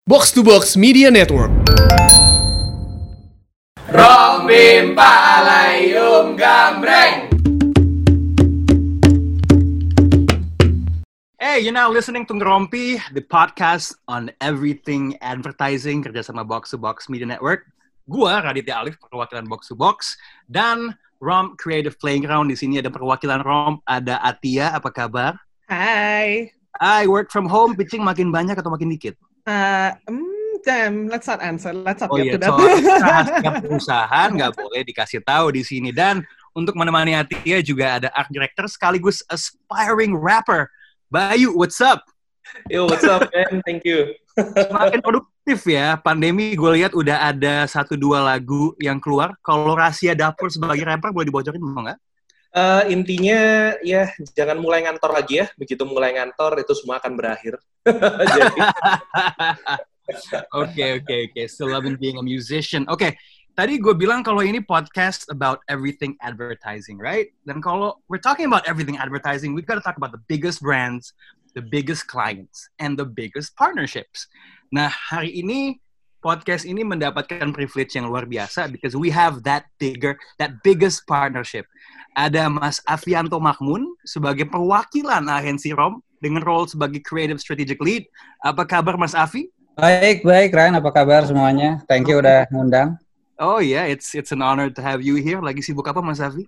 Box to Box Media Network. Rom bim palayum gambreng. Hey, you're now listening to Ngerompi, the podcast on everything advertising kerjasama Box to Box Media Network. Gua Raditya Alif, perwakilan Box to Box, dan Rom Creative Playground. Di sini ada perwakilan Rom, ada Atia. Apa kabar? Hai. I work from home. Pitching makin banyak atau makin dikit? Damn, let's not answer. Let's not Oh get iya, to that. rahasia perusahaan nggak boleh dikasih tahu di sini. Dan untuk menemani Atia juga ada art director sekaligus aspiring rapper. Bayu, what's up? Yo, what's up, man? Thank you. Semakin produktif ya. Pandemi gue lihat udah ada 1-2 lagu yang keluar. Kalau rahasia dapur sebagai rapper boleh dibocorin mau nggak? Intinya ya jangan mulai ngantor lagi ya. Begitu mulai ngantor itu semua akan berakhir. Jadi, Oke. Still loving being a musician. Oke, tadi gue bilang kalau ini podcast about everything advertising, right? Dan kalau we're talking about everything advertising, we've got to talk about the biggest brands, the biggest clients, and the biggest partnerships. Nah, hari ini podcast ini mendapatkan privilege yang luar biasa because we have that biggest partnership. Ada Mas Afianto Mahmun sebagai perwakilan agensi Rom dengan role sebagai creative strategic lead. Apa kabar Mas Afi? Baik, Ryan. Apa kabar semuanya? Thank you udah ngundang. Oh yeah, it's an honor to have you here. Lagi sibuk apa Mas Afi?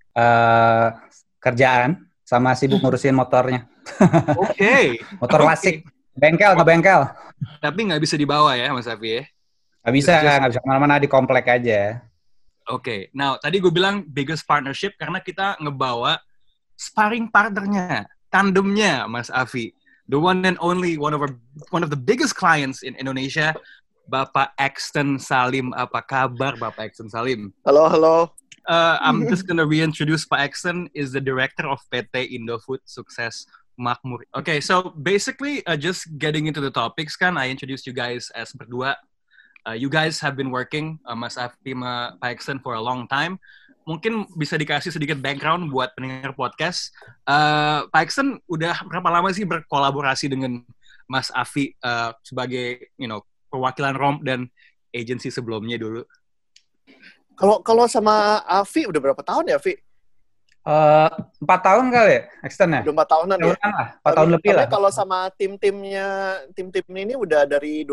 Kerjaan sama sibuk ngurusin motornya. Oke. Motor klasik. Bengkel, nggak bengkel. Tapi nggak bisa dibawa ya Mas Afi ya? Nggak bisa kemana-mana di komplek aja. Oke. Now, tadi gue bilang biggest partnership karena kita ngebawa sparring partnernya, tandemnya Mas Afi. The one and only, one of the biggest clients in Indonesia, Bapak Axton Salim. Apa kabar Bapak Axton Salim? Halo. I'm just gonna reintroduce Pak Axton is the director of PT Indofood Sukses Makmur. Okay, so basically just getting into the topics kan, I introduced you guys as berdua. You guys have been working, Mas Afi sama Pak Axton for a long time. Mungkin bisa dikasih sedikit background buat pendengar podcast. Pak Axton udah berapa lama sih berkolaborasi dengan Mas Afi sebagai, perwakilan Rom dan agensi sebelumnya dulu? Kalau sama Afi udah berapa tahun ya, Afi? 4 tahun kali ya, Axton ya? Udah 4 tahunan ya? 4 tahun lebih lah. Kalau sama tim ini udah dari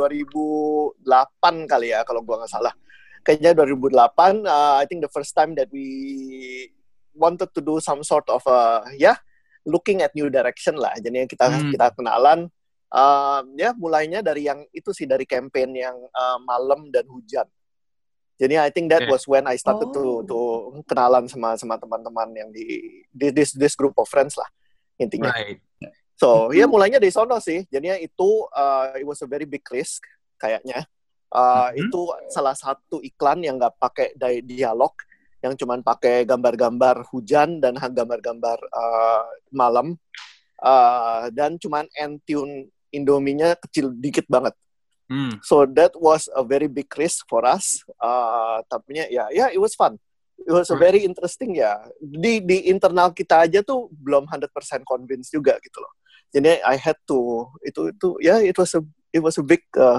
2008 kali ya, kalau gua nggak salah. Kayaknya 2008, I think the first time that we wanted to do some sort of, looking at new direction lah. Jadi kita kenalan, mulainya dari yang itu sih, dari campaign yang malam dan hujan. Jadi I think that was when I started to kenalan sama teman-teman yang di this group of friends lah intinya. Right. So mulainya dari sono sih. Jadinya itu it was a very big risk kayaknya. Itu salah satu iklan yang nggak pakai dialog, yang cuman pakai gambar-gambar hujan dan gambar-gambar malam, dan cuman end tune Indomie-nya kecil dikit banget. So that was a very big risk for us. Tapi it was fun. It was a very interesting ya. Di internal kita aja tuh belum 100% convinced juga gitu loh. Jadi I had to it was a big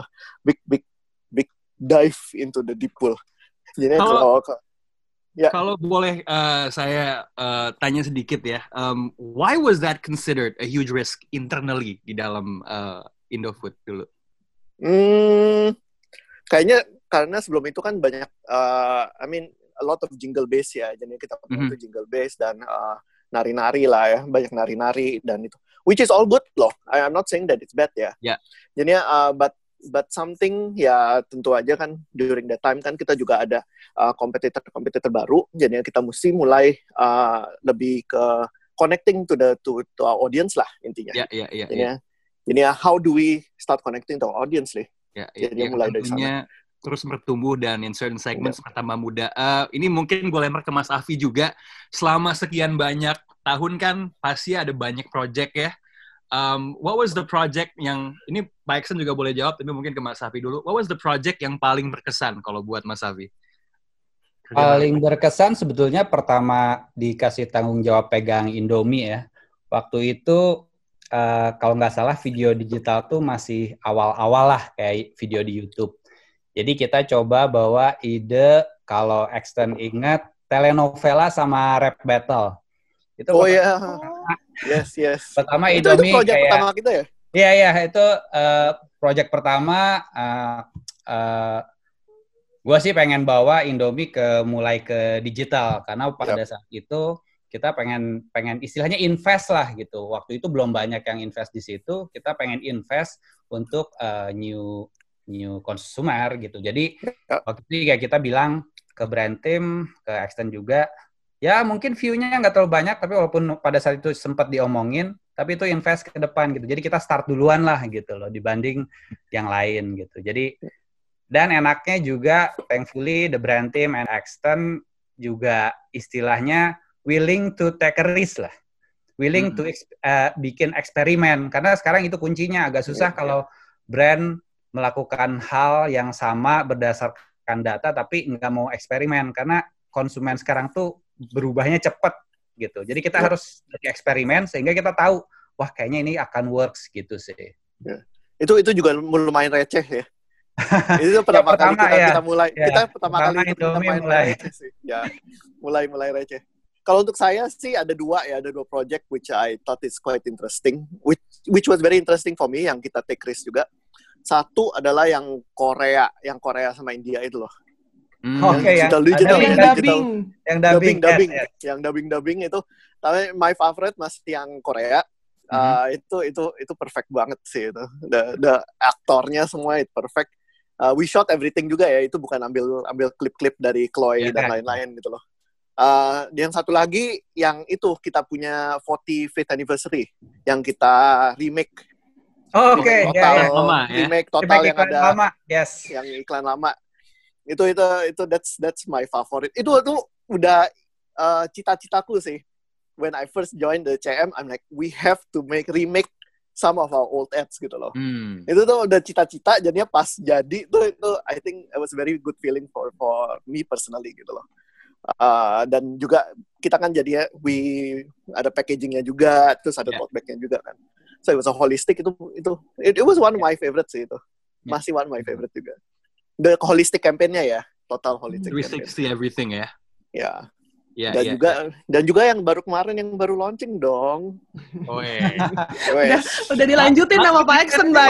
dive into the deep pool. Jadi kalau boleh saya tanya sedikit ya, why was that considered a huge risk internally di dalam Indofood dulu? Kayaknya karena sebelum itu kan banyak, a lot of jingle bass ya. Jadi kita pakai itu jingle bass dan nari-nari lah ya, banyak nari-nari dan itu, which is all good loh. I'm not saying that it's bad ya. Yeah. Jadi but something ya tentu aja kan during that time kan kita juga ada kompetitor baru. Jadi kita mesti mulai lebih ke connecting to our audience lah intinya. Yeah. Jadi how do we start connecting to our audience nih? Jadi mulai dari sana. Terus bertumbuh dan in certain segments bertambah muda. Ini mungkin gue lempar ke Mas Afi juga. Selama sekian banyak tahun kan pasti ada banyak project ya. What was the project yang, ini Pak Axton juga boleh jawab, tapi mungkin ke Mas Afi dulu. What was the project yang paling berkesan kalau buat Mas Afi? Paling berkesan sebetulnya pertama dikasih tanggung jawab pegang Indomie ya. Waktu itu kalau nggak salah video digital tuh masih awal-awal lah kayak video di YouTube. Jadi kita coba bawa ide, kalau Extend ingat, telenovela sama rap battle. Itu Yes. Pertama Itu Indomie project kayak pertama kita ya? Iya, itu project pertama. Gue sih pengen bawa Indomie mulai ke digital karena pada saat itu kita pengen istilahnya invest lah gitu. Waktu itu belum banyak yang invest di situ. Kita pengen invest untuk new consumer gitu. Jadi waktu itu kayak kita bilang ke brand team, ke Extend juga, ya mungkin view-nya nggak terlalu banyak, tapi walaupun pada saat itu sempat diomongin, tapi itu invest ke depan gitu. Jadi kita start duluan lah gitu loh dibanding yang lain gitu. Jadi dan enaknya juga thankfully the brand team and Extend juga istilahnya willing to take a risk lah. Willing to bikin eksperimen karena sekarang itu kuncinya agak susah kalau brand melakukan hal yang sama berdasarkan data tapi nggak mau eksperimen karena konsumen sekarang tuh berubahnya cepat gitu. Jadi kita harus eksperimen sehingga kita tahu wah kayaknya ini akan works gitu sih. Itu juga lumayan receh ya. Itu pertama kali kita mulai. Kita pertama kali kita mulai receh sih. Ya, mulai receh. Kalau untuk saya sih ada dua project which I thought is quite interesting, which was very interesting for me yang kita take risk juga. Satu adalah yang Korea sama India itu loh. Yang dubbing itu. Tapi my favorite masih yang Korea. Itu perfect banget sih itu. The aktornya semua itu perfect. We shot everything juga ya. Itu bukan ambil klip-klip dari Chloe dan lain-lain gitu loh. Yang satu lagi yang itu kita punya 45th anniversary yang kita remake. Remake total yang ada lama. Yes. Yang iklan lama. Itu that's my favorite. Itu udah cita-citaku sih. When I first joined the CM, I'm like we have to remake some of our old ads gitu loh. Itu tuh udah cita-cita, jadinya pas jadi itu I think it was a very good feeling for me personally gitu loh. Dan juga kita kan jadinya ada packagingnya juga, terus ada tote bagnya juga kan. So it was a holistic it was one of my favorite sih itu. Masih one of my favorite juga. The holistic campaign-nya ya, total holistic 360 campaign. Everything ya. Ya. Dan juga yang baru kemarin yang baru launching dong. Udah dilanjutin sama Pak Extend, Bang.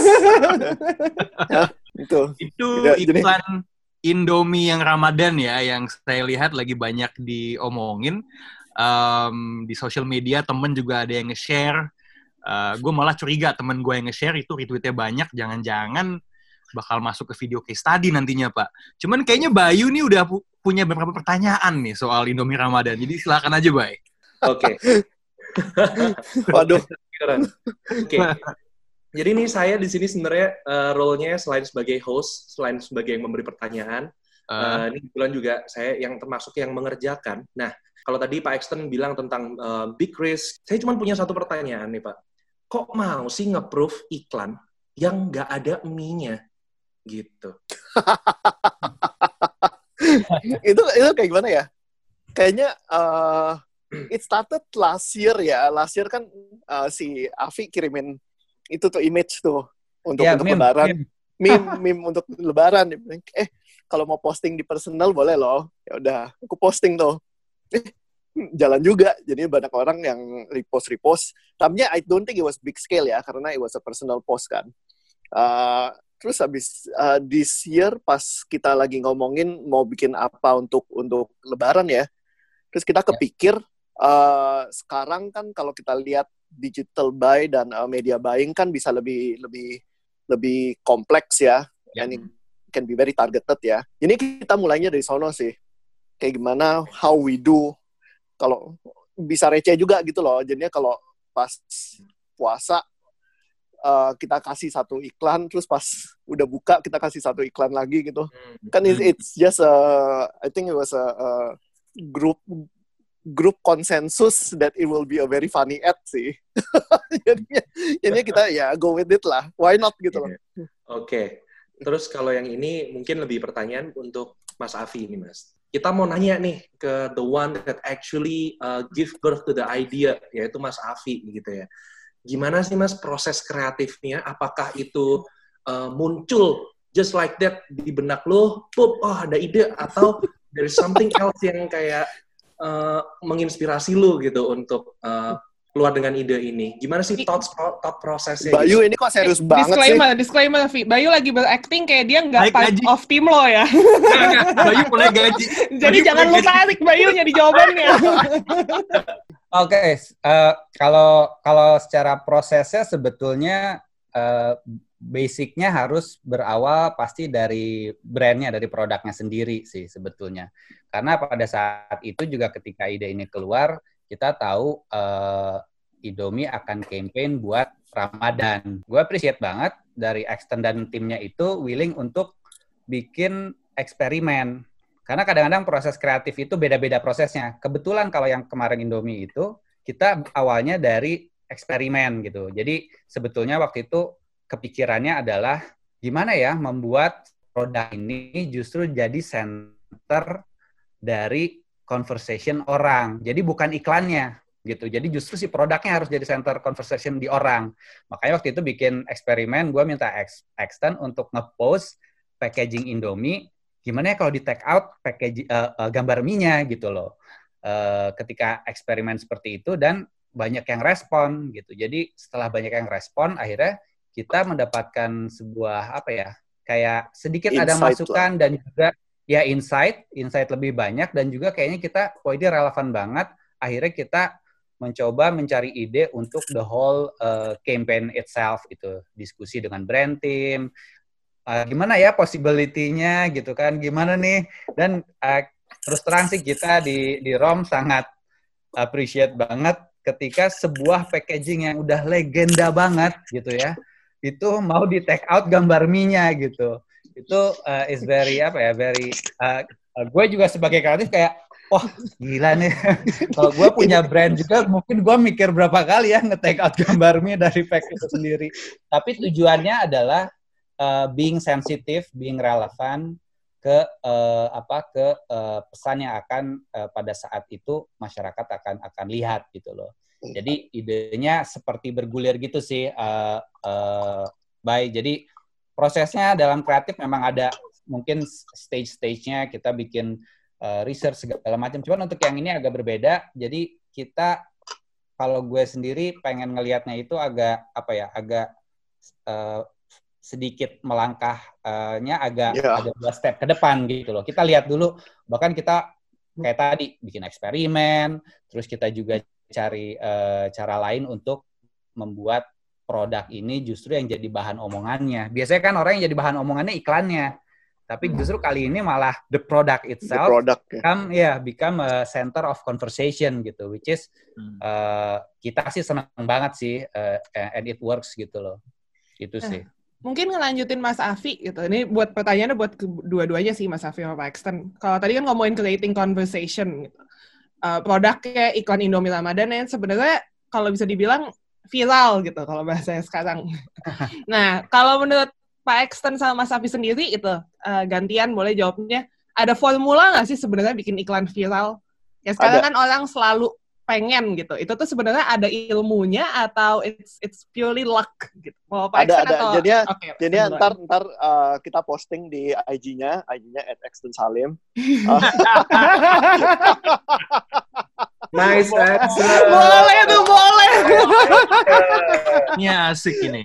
Itu iklan Indomie yang Ramadan ya, yang saya lihat lagi banyak diomongin di social media. Temen juga ada yang nge-share. Gue malah curiga temen gue yang nge-share itu retweetnya banyak, jangan-jangan bakal masuk ke video case study nantinya Pak. Cuman kayaknya Bayu nih udah punya beberapa pertanyaan nih soal Indomie Ramadan, jadi silakan aja Bay. Oke. Waduh. Oke. Jadi ini saya di sini sebenarnya role-nya selain sebagai host, selain sebagai yang memberi pertanyaan, ini kebetulan juga saya yang termasuk yang mengerjakan. Nah, kalau tadi Pak Extend bilang tentang big risk, saya cuma punya satu pertanyaan nih Pak. Kok mau sih nge-proof iklan yang nggak ada mie-nya? Gitu. itu kayak gimana ya? Kayaknya it started last year ya. Last year kan si Afi kirimin itu tuh image tuh untuk lebaran. Meme untuk lebaran. Kalau mau posting di personal boleh loh. Ya udah, aku posting tuh. Jalan juga. Jadi banyak orang yang repost. Tapi I don't think it was big scale ya, karena it was a personal post kan. Terus habis this year pas kita lagi ngomongin mau bikin apa untuk lebaran ya, terus kita kepikir sekarang kan kalau kita lihat digital buy dan media buying kan bisa lebih kompleks ya, and it can be very targeted ya. Ini kita mulainya dari sono sih, kayak gimana how we do, kalau bisa receh juga gitu loh. Jadinya kalau pas puasa kita kasih satu iklan, terus pas udah buka kita kasih satu iklan lagi gitu. Kan it's just I think it was a group consensus that it will be a very funny ad sih. Jadinya kita ya go with it lah. Why not gitu loh. Oke. Terus kalau yang ini mungkin lebih pertanyaan untuk Mas Afi ini Mas. Kita mau nanya nih ke the one that actually give birth to the idea, yaitu Mas Afi gitu ya. gimana sih Mas proses kreatifnya? Apakah itu muncul just like that di benak lo, ada ide, atau there's something else yang kayak menginspirasi lo gitu untuk keluar dengan ide ini? Gimana sih thought prosesnya? Bayu gitu? ini kok serius banget Disclaimer, Vi. Bayu lagi berakting kayak dia nggak Naik part gaji. of tim lo ya. Bayu mulai gaji. Jadi jangan lu tarik Bayunya di jawabannya. Oke, kalau secara prosesnya sebetulnya basicnya harus berawal pasti dari brandnya, dari produknya sendiri sih sebetulnya. Karena pada saat itu juga ketika ide ini keluar, kita tahu Indomie akan campaign buat Ramadan. Gue appreciate banget dari Extend dan timnya itu willing untuk bikin eksperimen. Karena kadang-kadang proses kreatif itu beda-beda prosesnya. Kebetulan kalau yang kemarin Indomie itu, kita awalnya dari eksperimen gitu. Jadi sebetulnya waktu itu kepikirannya adalah gimana ya membuat produk ini justru jadi center dari conversation orang. Jadi bukan iklannya gitu. Jadi justru si produknya harus jadi center conversation di orang. Makanya waktu itu bikin eksperimen, gue minta Extend untuk nge-post packaging Indomie, gimana ya kalau di take out packaging gambar mie-nya gitu loh. Ketika eksperimen seperti itu dan banyak yang respon gitu. Jadi setelah banyak yang respon, akhirnya kita mendapatkan sebuah kayak sedikit insight ada masukan lah. Dan juga ya insight lebih banyak dan juga kayaknya kita ini relevan banget. Akhirnya kita mencoba mencari ide untuk the whole campaign itself itu, diskusi dengan brand team, gimana ya possibility-nya gitu kan, gimana nih, dan terus terang sih kita di ROM sangat appreciate banget ketika sebuah packaging yang udah legenda banget gitu ya, itu mau di take out gambar mie-nya gitu. Itu is very gue juga sebagai kreatif kayak gila nih. Kalau gue punya brand juga mungkin gue mikir berapa kali ya nge-take out gambar mie dari pack itu sendiri. Tapi tujuannya adalah being sensitive, being relevant ke pesan yang akan pada saat itu masyarakat akan lihat gitu loh. Jadi idenya seperti bergulir gitu sih, Jadi prosesnya dalam kreatif memang ada mungkin stage-nya, kita bikin research segala macam. Cuman untuk yang ini agak berbeda. Jadi kita, kalau gue sendiri pengen ngelihatnya itu agak sedikit melangkahnya agak 2 step ke depan gitu loh. Kita lihat dulu, bahkan kita kayak tadi bikin eksperimen, terus kita juga cari cara lain untuk membuat produk ini justru yang jadi bahan omongannya. Biasanya kan orang yang jadi bahan omongannya iklannya, tapi justru kali ini malah the product itself become a center of conversation gitu, which is kita sih senang banget sih, and it works gitu loh. Itu sih. Mungkin ngelanjutin Mas Afi gitu. Ini buat pertanyaannya buat dua-duanya sih, Mas Afi sama Pak Extend. Kalau tadi kan ngomongin creating conversation gitu. Produknya iklan Indomie Ramadan yang sebenarnya kalau bisa dibilang viral gitu kalau bahasanya sekarang. Nah, kalau menurut Pak Extend sama Mas Afi sendiri itu gantian boleh jawabnya. Ada formula nggak sih sebenarnya bikin iklan viral? Ya sekarang kan orang selalu pengen gitu. Itu tuh sebenarnya ada ilmunya atau it's purely luck gitu. Mau Pak Extend atau Jadinya ntar kita posting di IG-nya @extendsalim. Nice, boleh tuh, boleh. Ini asik ini.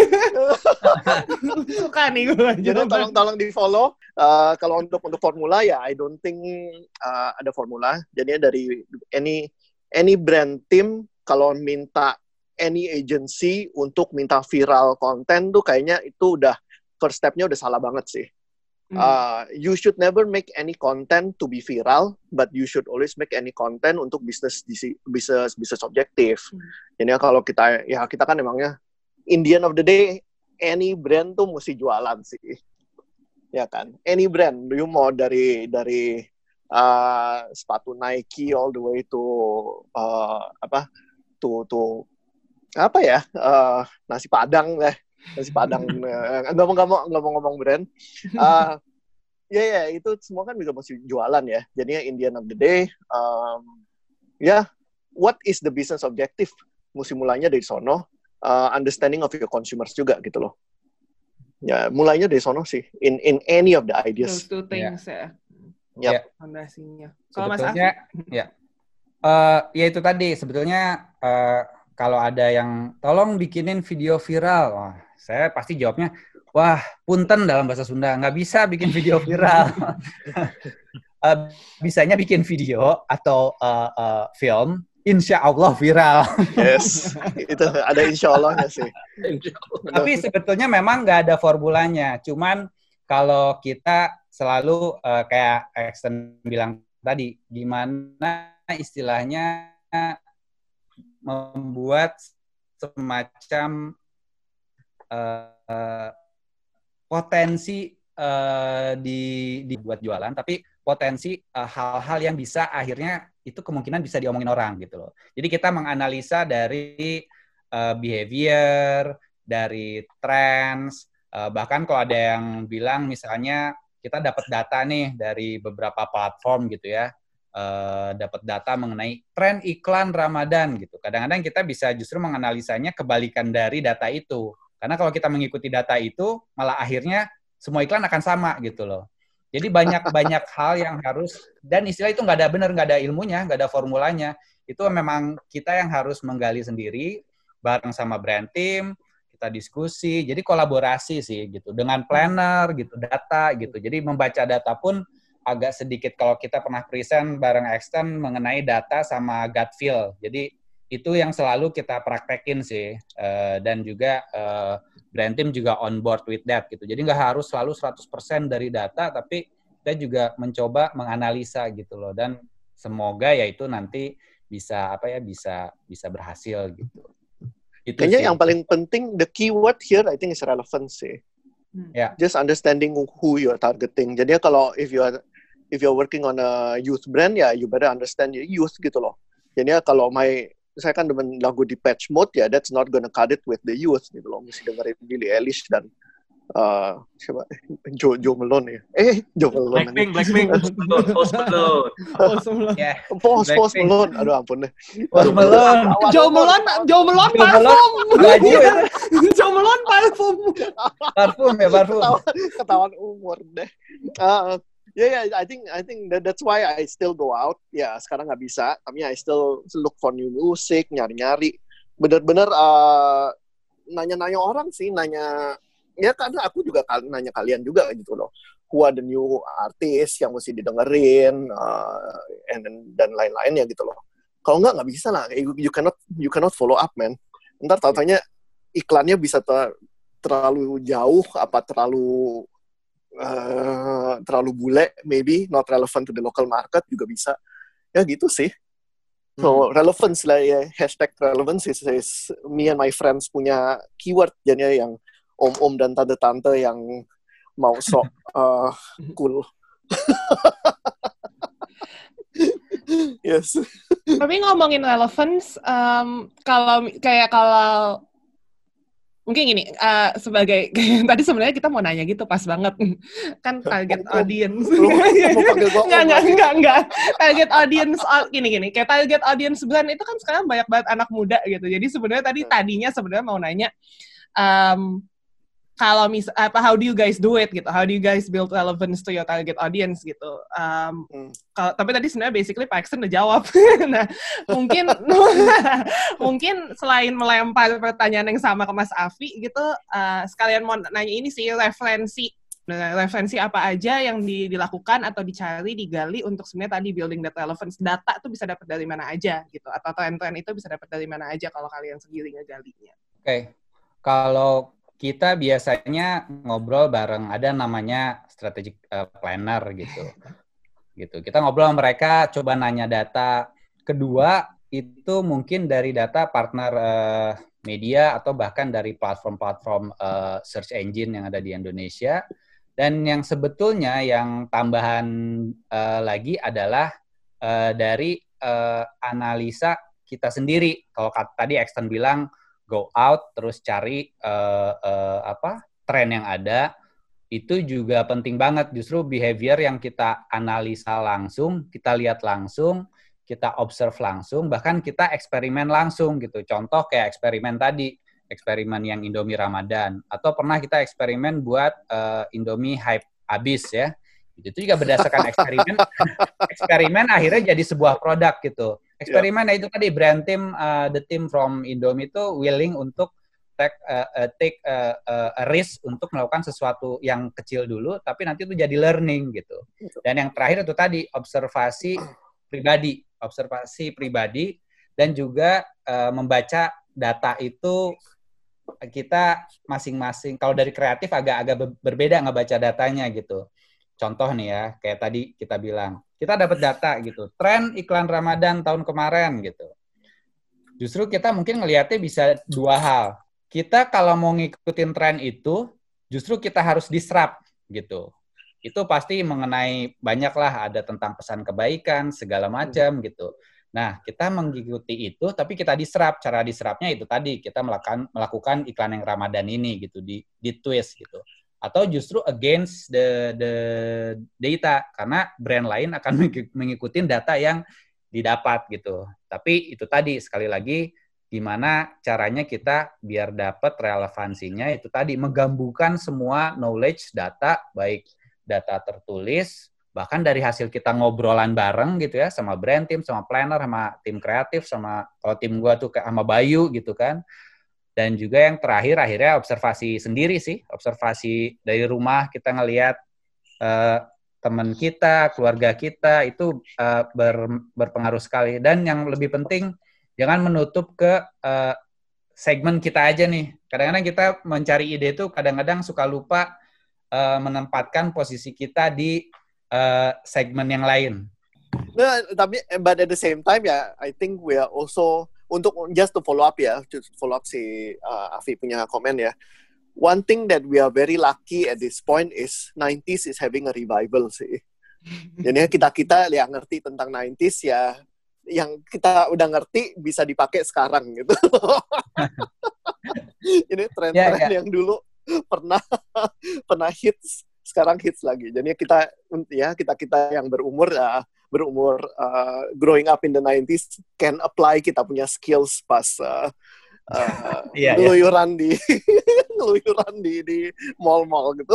Suka nih gue. Jadi tolong di follow. Kalau untuk formula ya, I don't think ada formula. Jadinya dari any brand team kalau minta any agency untuk minta viral konten tuh kayaknya itu udah first step-nya udah salah banget sih. You should never make any content to be viral, but you should always make any content untuk bisnis objektif. Jadi kalau kita kan emangnya in the end of the day any brand tuh mesti jualan sih, ya kan? Any brand, you mau dari sepatu Nike all the way to nasi Padang deh. Nasi Padang, nggak mau ngomong brand. Itu semua kan juga mesti jualan ya. Jadinya in the end of the day, what is the business objective? Mesti mulainya dari sono. understanding of your consumers juga gitu loh. Ya, mulainya dari sono sih. In any of the ideas. Those two things ya. Yep. Fondasinya. Kalau Mas Sebetulnya, Afi? ya itu tadi. Sebetulnya kalau ada yang tolong bikinin video viral, wah, saya pasti jawabnya, wah, punten dalam bahasa Sunda, nggak bisa bikin video viral. Bisanya bikin video atau film, insya Allah viral. Yes, itu ada insya Allahnya sih. Tapi sebetulnya memang nggak ada formulanya. Cuman kalau kita selalu kayak Axton bilang tadi, gimana istilahnya membuat semacam potensi dibuat jualan, tapi potensi hal-hal yang bisa akhirnya itu kemungkinan bisa diomongin orang gitu loh. Jadi kita menganalisa dari behavior, dari trends, bahkan kalau ada yang bilang misalnya kita dapat data nih dari beberapa platform gitu ya, dapat data mengenai tren iklan Ramadan gitu. Kadang-kadang kita bisa justru menganalisanya kebalikan dari data itu. Karena kalau kita mengikuti data itu, malah akhirnya semua iklan akan sama gitu loh. Jadi banyak hal yang harus, dan istilah itu nggak ada benar, nggak ada ilmunya, nggak ada formulanya. Itu memang kita yang harus menggali sendiri, bareng sama brand team, kita diskusi, jadi kolaborasi sih gitu. Dengan planner gitu, data gitu. Jadi membaca data pun agak sedikit kalau kita pernah present bareng Axton mengenai data sama gut feel. Jadi itu yang selalu kita praktekin sih. Dan juga brand team juga on board with that gitu. Jadi nggak harus selalu 100% dari data, tapi kita juga mencoba menganalisa gitu loh. Dan semoga ya itu nanti bisa bisa berhasil gitu. Itu kayaknya sih yang paling penting, the keyword here I think is relevancy. Yeah. Just understanding who you're targeting. Jadi kalau if you're working on a youth brand, ya you better understand your youth gitu loh. Jadi kalau saya kan demen lagu di Patch Mode, ya that's not gonna cut it with the youth gitu loh. Mesti dengerin Billie Eilish dan siapa? Joe Malone ya. Joe Malone. Blackpink. Post Malone. Yeah. Post Malone. Aduh ampun deh. Post Malone. Joe Malone parfum. Baju ya. Joe Malone parfum. Parfum. Ketahuan umur deh. Yeah, I think that's why I still go out. Ya, sekarang nggak bisa. Tapi I still look for new music, nyari-nyari. Bener-bener nanya-nanya orang sih, ya karena aku juga nanya kalian juga gitu loh. Who are the new artist yang mesti didengerin, dan lain-lain ya gitu loh. Kalau nggak bisa lah. You cannot follow up, man. Ntar tau-taunya iklannya bisa terlalu jauh, apa terlalu bule, maybe not relevant to the local market juga bisa. Ya gitu sih. So relevance lah ya, hashtag relevance is me and my friends punya keyword jadinya yang om-om dan tante-tante yang mau sok cool. Yes. Tapi ngomongin relevance, kalau mungkin gini, sebagai tadi sebenarnya kita mau nanya gitu pas banget kan target audience. Enggak. Target audience gini. Kayak target audience brand itu kan sekarang banyak banget anak muda gitu. Jadi sebenarnya tadinya sebenarnya mau nanya kalau how do you guys do it gitu? How do you guys build relevance to your target audience gitu? Tapi tadi sebenarnya basically Pak Axton udah jawab. Nah, mungkin selain melempar pertanyaan yang sama ke Mas Afi gitu, sekalian mau nanya ini sih, referensi apa aja yang dilakukan atau dicari, digali untuk sebenarnya tadi building that relevance. Data tuh bisa dapat dari mana aja gitu, atau tren-tren itu bisa dapat dari mana aja kalau kalian sendiri ngegalinya. Oke. Kalau kita biasanya ngobrol bareng, ada namanya strategic planner gitu. Kita ngobrol sama mereka, coba nanya data. Kedua, itu mungkin dari data partner media atau bahkan dari platform-platform search engine yang ada di Indonesia. Dan yang sebetulnya yang tambahan lagi adalah dari analisa kita sendiri. Kalau tadi Axton bilang, go out terus cari tren yang ada, itu juga penting banget. Justru behavior yang kita analisa langsung, kita lihat langsung, kita observe langsung, bahkan kita eksperimen langsung gitu. Contoh kayak eksperimen tadi, eksperimen yang Indomie Ramadan, atau pernah kita eksperimen buat Indomie hype abis ya. Itu juga berdasarkan eksperimen akhirnya jadi sebuah produk gitu. Eksperimen itu tadi brand team, the team from Indomie itu willing untuk take a risk untuk melakukan sesuatu yang kecil dulu, tapi nanti itu jadi learning gitu. Dan yang terakhir itu tadi observasi pribadi dan juga membaca data itu kita masing-masing. Kalau dari kreatif agak berbeda ngebaca datanya gitu. Contoh nih ya, kayak tadi kita bilang, kita dapat data gitu, tren iklan Ramadan tahun kemarin gitu. Justru kita mungkin ngelihatnya bisa dua hal. Kita kalau mau ngikutin tren itu, justru kita harus disrupt gitu. Itu pasti mengenai banyak lah, ada tentang pesan kebaikan, segala macam gitu. Nah, kita mengikuti itu, tapi kita disrupt. Cara disruptnya itu tadi, kita melakukan iklan yang Ramadan ini gitu, di twist gitu. Atau justru against the data, karena brand lain akan mengikuti data yang didapat gitu. Tapi itu tadi, sekali lagi, gimana caranya kita biar dapat relevansinya, itu tadi, menggabungkan semua knowledge, data, baik data tertulis, bahkan dari hasil kita ngobrolan bareng gitu ya, sama brand team, sama planner, sama tim kreatif, sama kalau tim gua tuh sama Bayu gitu kan. Dan juga yang terakhir akhirnya observasi sendiri sih, observasi dari rumah, kita ngelihat teman kita, keluarga kita itu berpengaruh sekali. Dan yang lebih penting, jangan menutup ke segmen kita aja nih. Kadang-kadang kita mencari ide itu kadang-kadang suka lupa menempatkan posisi kita di segmen yang lain. Nah, tapi but at the same time ya, I think we are also untuk just to follow up si Afi punya komen ya. One thing that we are very lucky at this point is 90s is having a revival sih. Jadi kita yang ngerti tentang 90s ya, yang kita udah ngerti bisa dipakai sekarang gitu. Ini tren-tren yang dulu pernah hits, sekarang hits lagi. Jadi kita yang berumur growing up in the 90s can apply kita punya skills pas ngeluyuran di mall-mall gitu.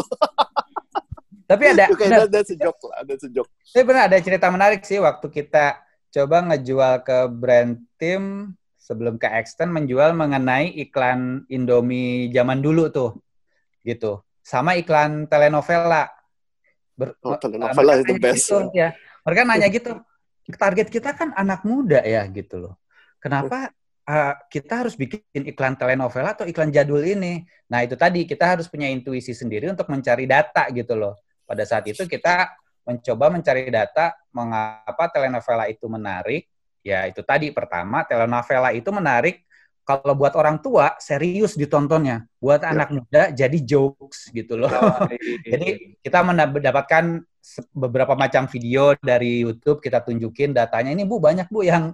Tapi that's a joke. Tapi benar ada cerita menarik sih waktu kita coba ngejual ke brand team sebelum ke Extend, menjual mengenai iklan Indomie zaman dulu tuh. Gitu. Sama iklan telenovela. Telenovela is the best. Gitu, ya. Mereka nanya gitu, target kita kan anak muda ya gitu loh. Kenapa kita harus bikin iklan telenovela atau iklan jadul ini? Nah itu tadi, kita harus punya intuisi sendiri untuk mencari data gitu loh. Pada saat itu kita mencoba mencari data mengapa telenovela itu menarik. Ya itu tadi, pertama telenovela itu menarik kalau buat orang tua serius ditontonnya, buat anak muda jadi jokes gitu loh. Jadi kita mendapatkan beberapa macam video dari YouTube, kita tunjukin datanya, ini Bu banyak Bu yang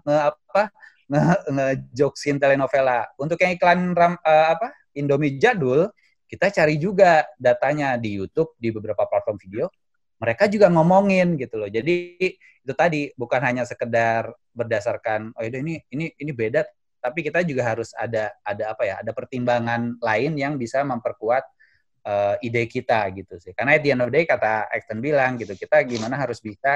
nge-jokesin telenovela. Untuk yang iklan Indomie jadul, kita cari juga datanya di YouTube, di beberapa platform video, mereka juga ngomongin gitu loh. Jadi itu tadi, bukan hanya sekedar berdasarkan ini beda, tapi kita juga harus ada pertimbangan lain yang bisa memperkuat ide kita gitu sih. Karena at the end of the day, kata Extend bilang gitu, kita gimana harus bisa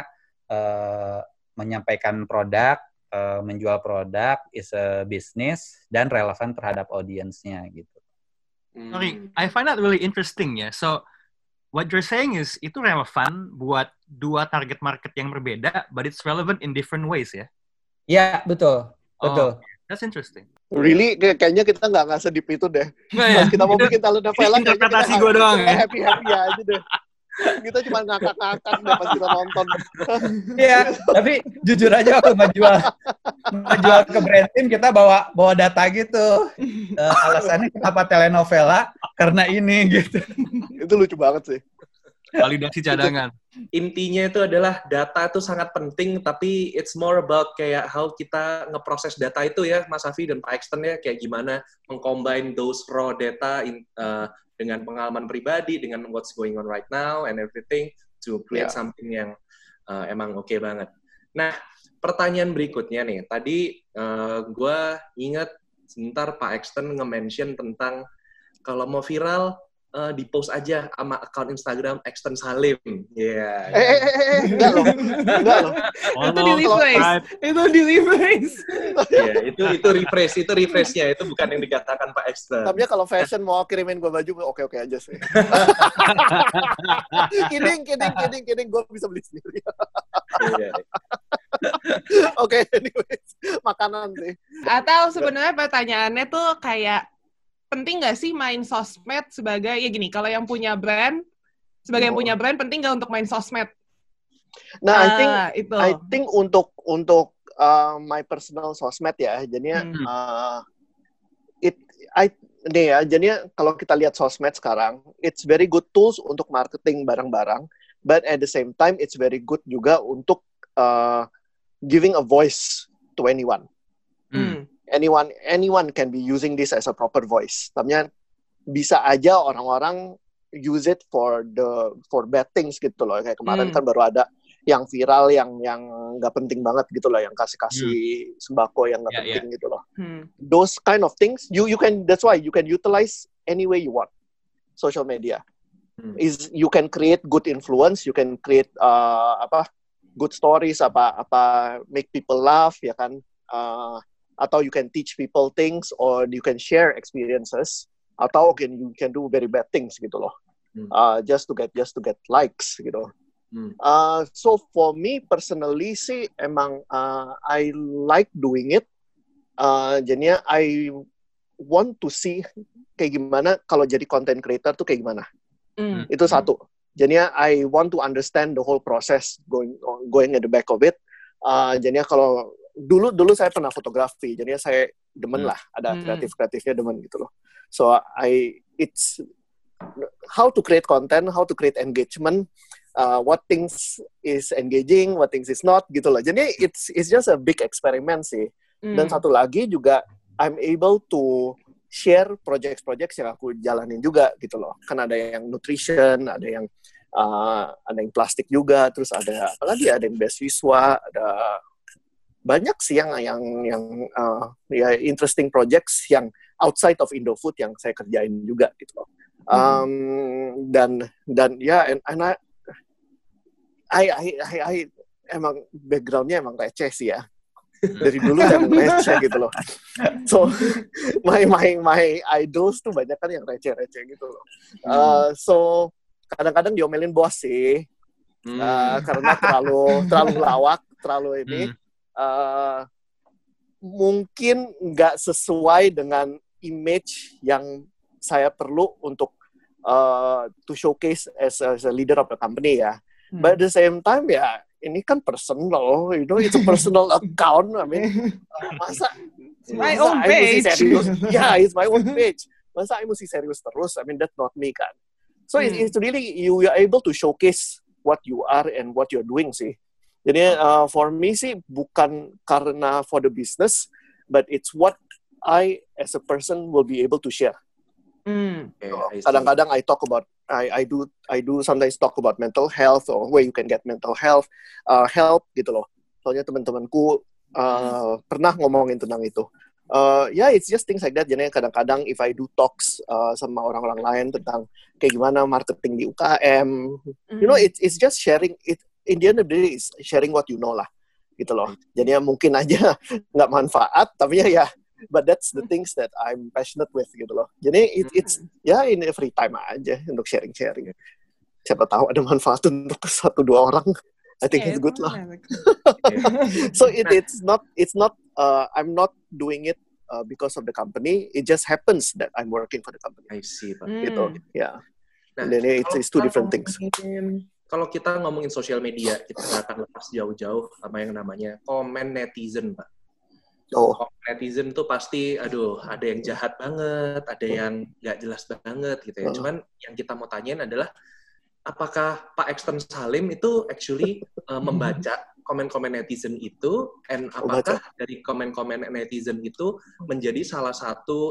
menyampaikan produk, menjual produk is a business dan relevan terhadap audiensnya gitu. Sorry, I find that really interesting ya. So what you're saying is itu relevan buat dua target market yang berbeda, but it's relevant in different ways ya? Iya, betul. Betul. That's interesting. Really, kayaknya kita nggak sedip itu deh. Pas kita mau bikin telenovela, interpretasi gue doang ya. Happy aja deh. Kita cuma ngakak-ngakak deh pas kita nonton. Iya, tapi jujur aja waktu ngejual ke brand team, kita bawa data gitu. Alasannya kenapa telenovela, karena ini gitu. Itu lucu banget sih. Validasi cadangan. Intinya itu adalah data itu sangat penting, tapi it's more about kayak how kita ngeproses data itu ya, Mas Afi dan Pak Extend ya, kayak gimana mengcombine those raw data dengan pengalaman pribadi, dengan what's going on right now and everything to create something yang emang oke banget. Nah, pertanyaan berikutnya nih, tadi gue ingat sebentar Pak Exton nge-mention tentang kalau mau viral di post aja sama akun Instagram Exton Salim. Iya. Enggak loh. Itu di rephrase. Iya, itu refresh-nya, itu bukan yang dikatakan Pak Exton. Tapi kalau fashion mau kirimin gue baju, oke aja sih. Kidding, gue bisa beli sendiri. Iya. Oke, anyways, makanan sih. Atau sebenarnya pertanyaannya tuh kayak, penting nggak sih main sosmed sebagai, ya gini, kalau yang punya brand, sebagai yang punya brand, penting nggak untuk main sosmed? Nah, I think untuk my personal sosmed ya, jadinya jadinya kalau kita lihat sosmed sekarang, it's very good tools untuk marketing barang-barang, but at the same time it's very good juga untuk giving a voice to anyone. Anyone can be using this as a proper voice. Tapi bisa aja orang-orang use it for bad things gitu loh. Kayak kemarin kan baru ada yang viral yang nggak penting banget gitu loh, yang kasih sembako yang nggak penting gitu loh. Those kind of things you can, that's why you can utilize any way you want social media. Is you can create good influence, you can create good stories, make people laugh, ya kan. Atau you can teach people things, or you can share experiences, atau you can do very bad things gitu loh, just to get likes gitu. So for me personally sih emang I like doing it. Jadinya I want to see kayak gimana kalau jadi content creator tuh kayak gimana. Itu satu. Jadinya I want to understand the whole process going at the back of it. Jadinya kalau dulu saya pernah fotografi, jadinya saya demen lah, ada kreatifnya demen gitu loh. So it's how to create content, how to create engagement, what things is engaging, what things is not gitu loh. Jadi it's just a big experiment sih. Dan satu lagi juga I'm able to share project-project yang aku jalanin juga gitu loh. Kan ada yang nutrition, ada yang plastik juga, terus ada apalagi ada yang beasiswa, ada banyak sih yang interesting projects yang outside of Indofood yang saya kerjain juga gitu loh. Dan ya, and I emang backgroundnya emang receh sih ya. Dari dulu emang receh gitu loh. So my idols tuh banyak kan yang receh-receh gitu loh. So kadang-kadang diomelin bos sih. Karena terlalu lawak, terlalu ini. Mungkin nggak sesuai dengan image yang saya perlu untuk to showcase as a leader of the company ya. But at the same time ya, ini kan personal, it's a personal account. I mean, masa my own page. Yeah, it's my own page. Masa I mesti serius terus? I mean, that's not me kan. So it's really you are able to showcase what you are and what you're doing sih. Jadi for me sih bukan karena for the business, but it's what I as a person will be able to share. Kadang-kadang I talk about I do sometimes talk about mental health or where you can get mental health help gitu loh. Soalnya teman-temanku pernah ngomongin tentang itu. It's just things like that. Jadi kadang-kadang if I do talks sama orang-orang lain tentang kayak gimana marketing di UKM, it's just sharing it. In the end of the day, is sharing what you know lah, gitu loh. Jadi mungkin aja nggak manfaat, tapi ya, but that's the things that I'm passionate with, gitu loh. Jadi it's in free time aja untuk sharing. Siapa tahu ada manfaat untuk 1-2 orang. I think it's good lah. So it's not I'm not doing it because of the company. It just happens that I'm working for the company. I see, Pak. Gitu, ya. Nah, then it's two different things. Kalau kita ngomongin sosial media, kita nggak akan lepas jauh-jauh sama yang namanya komen netizen, Pak. Komen netizen tuh pasti, ada yang jahat banget, ada yang nggak jelas banget gitu ya. Cuman yang kita mau tanyain adalah, apakah Pak Exton Salim itu actually membaca komen-komen netizen itu, and apakah dari komen-komen netizen itu menjadi salah satu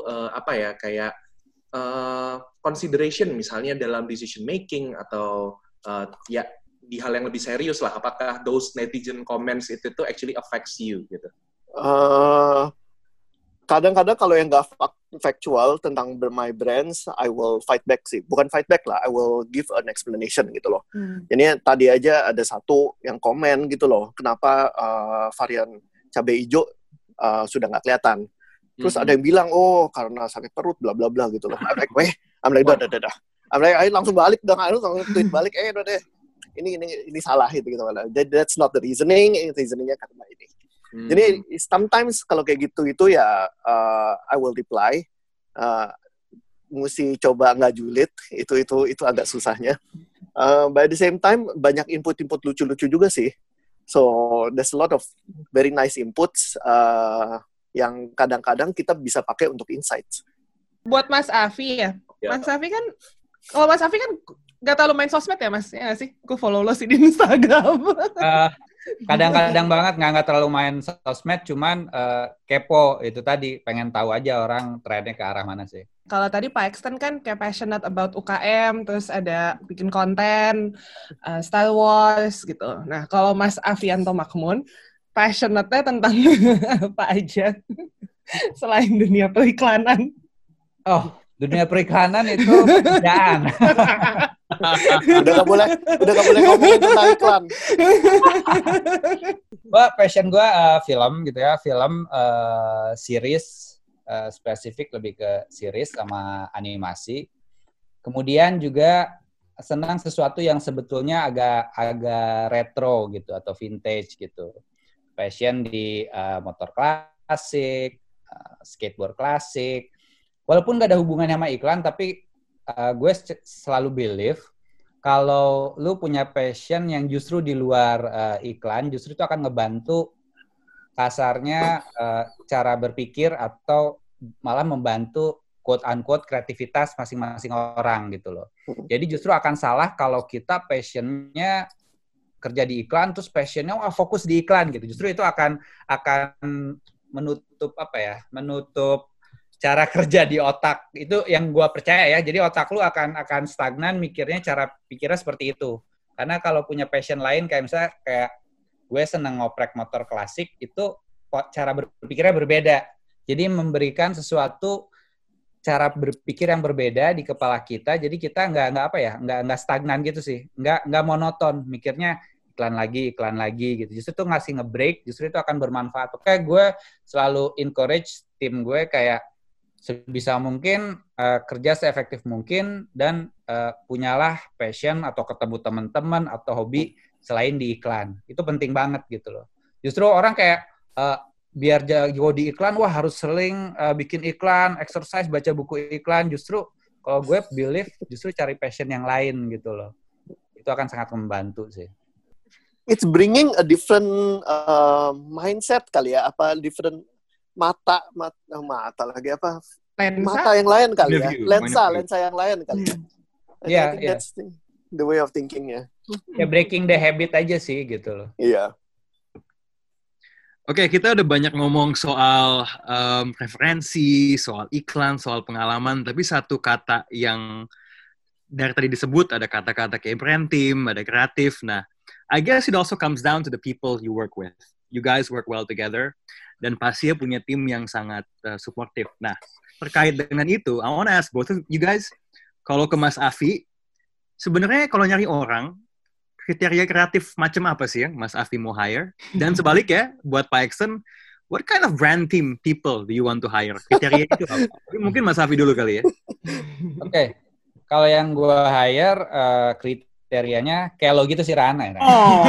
consideration misalnya dalam decision making atau di hal yang lebih serius lah, apakah those netizen comments itu actually affects you gitu? kadang-kadang kalau yang nggak factual tentang my brands, I will fight back sih. Bukan fight back lah, I will give an explanation gitu loh. Jadi tadi aja ada satu yang komen gitu loh, kenapa varian cabai hijau sudah nggak kelihatan. Terus ada yang bilang, oh karena sakit perut, bla bla bla gitu loh. I'm like, dah. I'm like, ayo langsung balik dong, langsung tweet balik, udah deh. Ini salah gitu. That's not the reasoning. Reasoningnya karena ini. Jadi sometimes kalau kayak gitu itu ya I will reply. Mesti coba nggak julid. Itu agak susahnya. But at the same time banyak input lucu-lucu juga sih. So there's a lot of very nice inputs yang kadang-kadang kita bisa pakai untuk insights. Buat Mas Afi ya. Mas Afi kan, kalau Mas Afi kan nggak terlalu main sosmed ya Mas? Ya nggak sih? Gue follow lo sih di Instagram. Kadang-kadang banget nggak terlalu main sosmed, cuman kepo itu tadi, pengen tahu aja orang trennya ke arah mana sih. Kalau tadi Pak Exton kan kayak passionate about UKM, terus ada bikin konten, Star Wars gitu. Nah, kalau Mas Afianto Makmun, passionate-nya tentang apa aja selain dunia periklanan? Oh, dunia periklanan itu pekerjaan. udah nggak boleh ngomongin tentang iklan. Passion gue film gitu ya, film series, spesifik lebih ke series sama animasi. Kemudian juga senang sesuatu yang sebetulnya agak retro gitu atau vintage gitu. Passion di motor klasik, skateboard klasik. Walaupun gak ada hubungannya sama iklan, tapi gue selalu believe kalau lu punya passion yang justru di luar iklan, justru itu akan ngebantu kasarnya cara berpikir atau malah membantu quote-unquote kreativitas masing-masing orang gitu loh. Jadi justru akan salah kalau kita passionnya kerja di iklan, terus passionnya fokus di iklan gitu. Justru itu akan menutup menutup cara kerja di otak. Itu yang gue percaya ya. Jadi otak lu akan stagnan mikirnya, cara pikirnya seperti itu. Karena kalau punya passion lain kayak misalnya kayak gue seneng ngoprek motor klasik, itu cara berpikirnya berbeda. Jadi memberikan sesuatu cara berpikir yang berbeda di kepala kita. Jadi kita nggak stagnan gitu sih. Nggak monoton mikirnya iklan lagi gitu. Justru itu ngasih nge-break, justru itu akan bermanfaat. Oke, gue selalu encourage tim gue kayak sebisa mungkin kerja seefektif mungkin dan punyalah passion atau ketemu teman-teman atau hobi selain di iklan. Itu penting banget gitu loh. Justru orang kayak biar jago di iklan, wah harus sering bikin iklan, exercise, baca buku iklan. Justru kalau gue believe justru cari passion yang lain gitu loh. Itu akan sangat membantu sih. It's bringing a different mindset kali ya, apa different mata lagi apa? Lensa? Mata yang lain kali ya. Lensa yang lain kali ya. Iya, that's the way of thinking-nya. Ya breaking the habit aja sih gitu loh. Iya. Oke, kita udah banyak ngomong soal referensi, soal iklan, soal pengalaman, tapi satu kata yang dari tadi disebut, ada kata-kata kayak brand team, ada kreatif. Nah, I guess it also comes down to the people you work with. You guys work well together, dan pasti punya tim yang sangat supportive. Nah, terkait dengan itu, I want to ask both of you guys, kalau ke Mas Afi, sebenarnya kalau nyari orang, kriteria kreatif macam apa sih yang Mas Afi mau hire? Dan sebaliknya, buat Pak Exton, what kind of brand team people do you want to hire? Kriteria itu apa? Mungkin Mas Afi dulu kali ya. Oke. Kalau yang gue hire, kriterianya kayak lo gitu sih, Rana. Ya,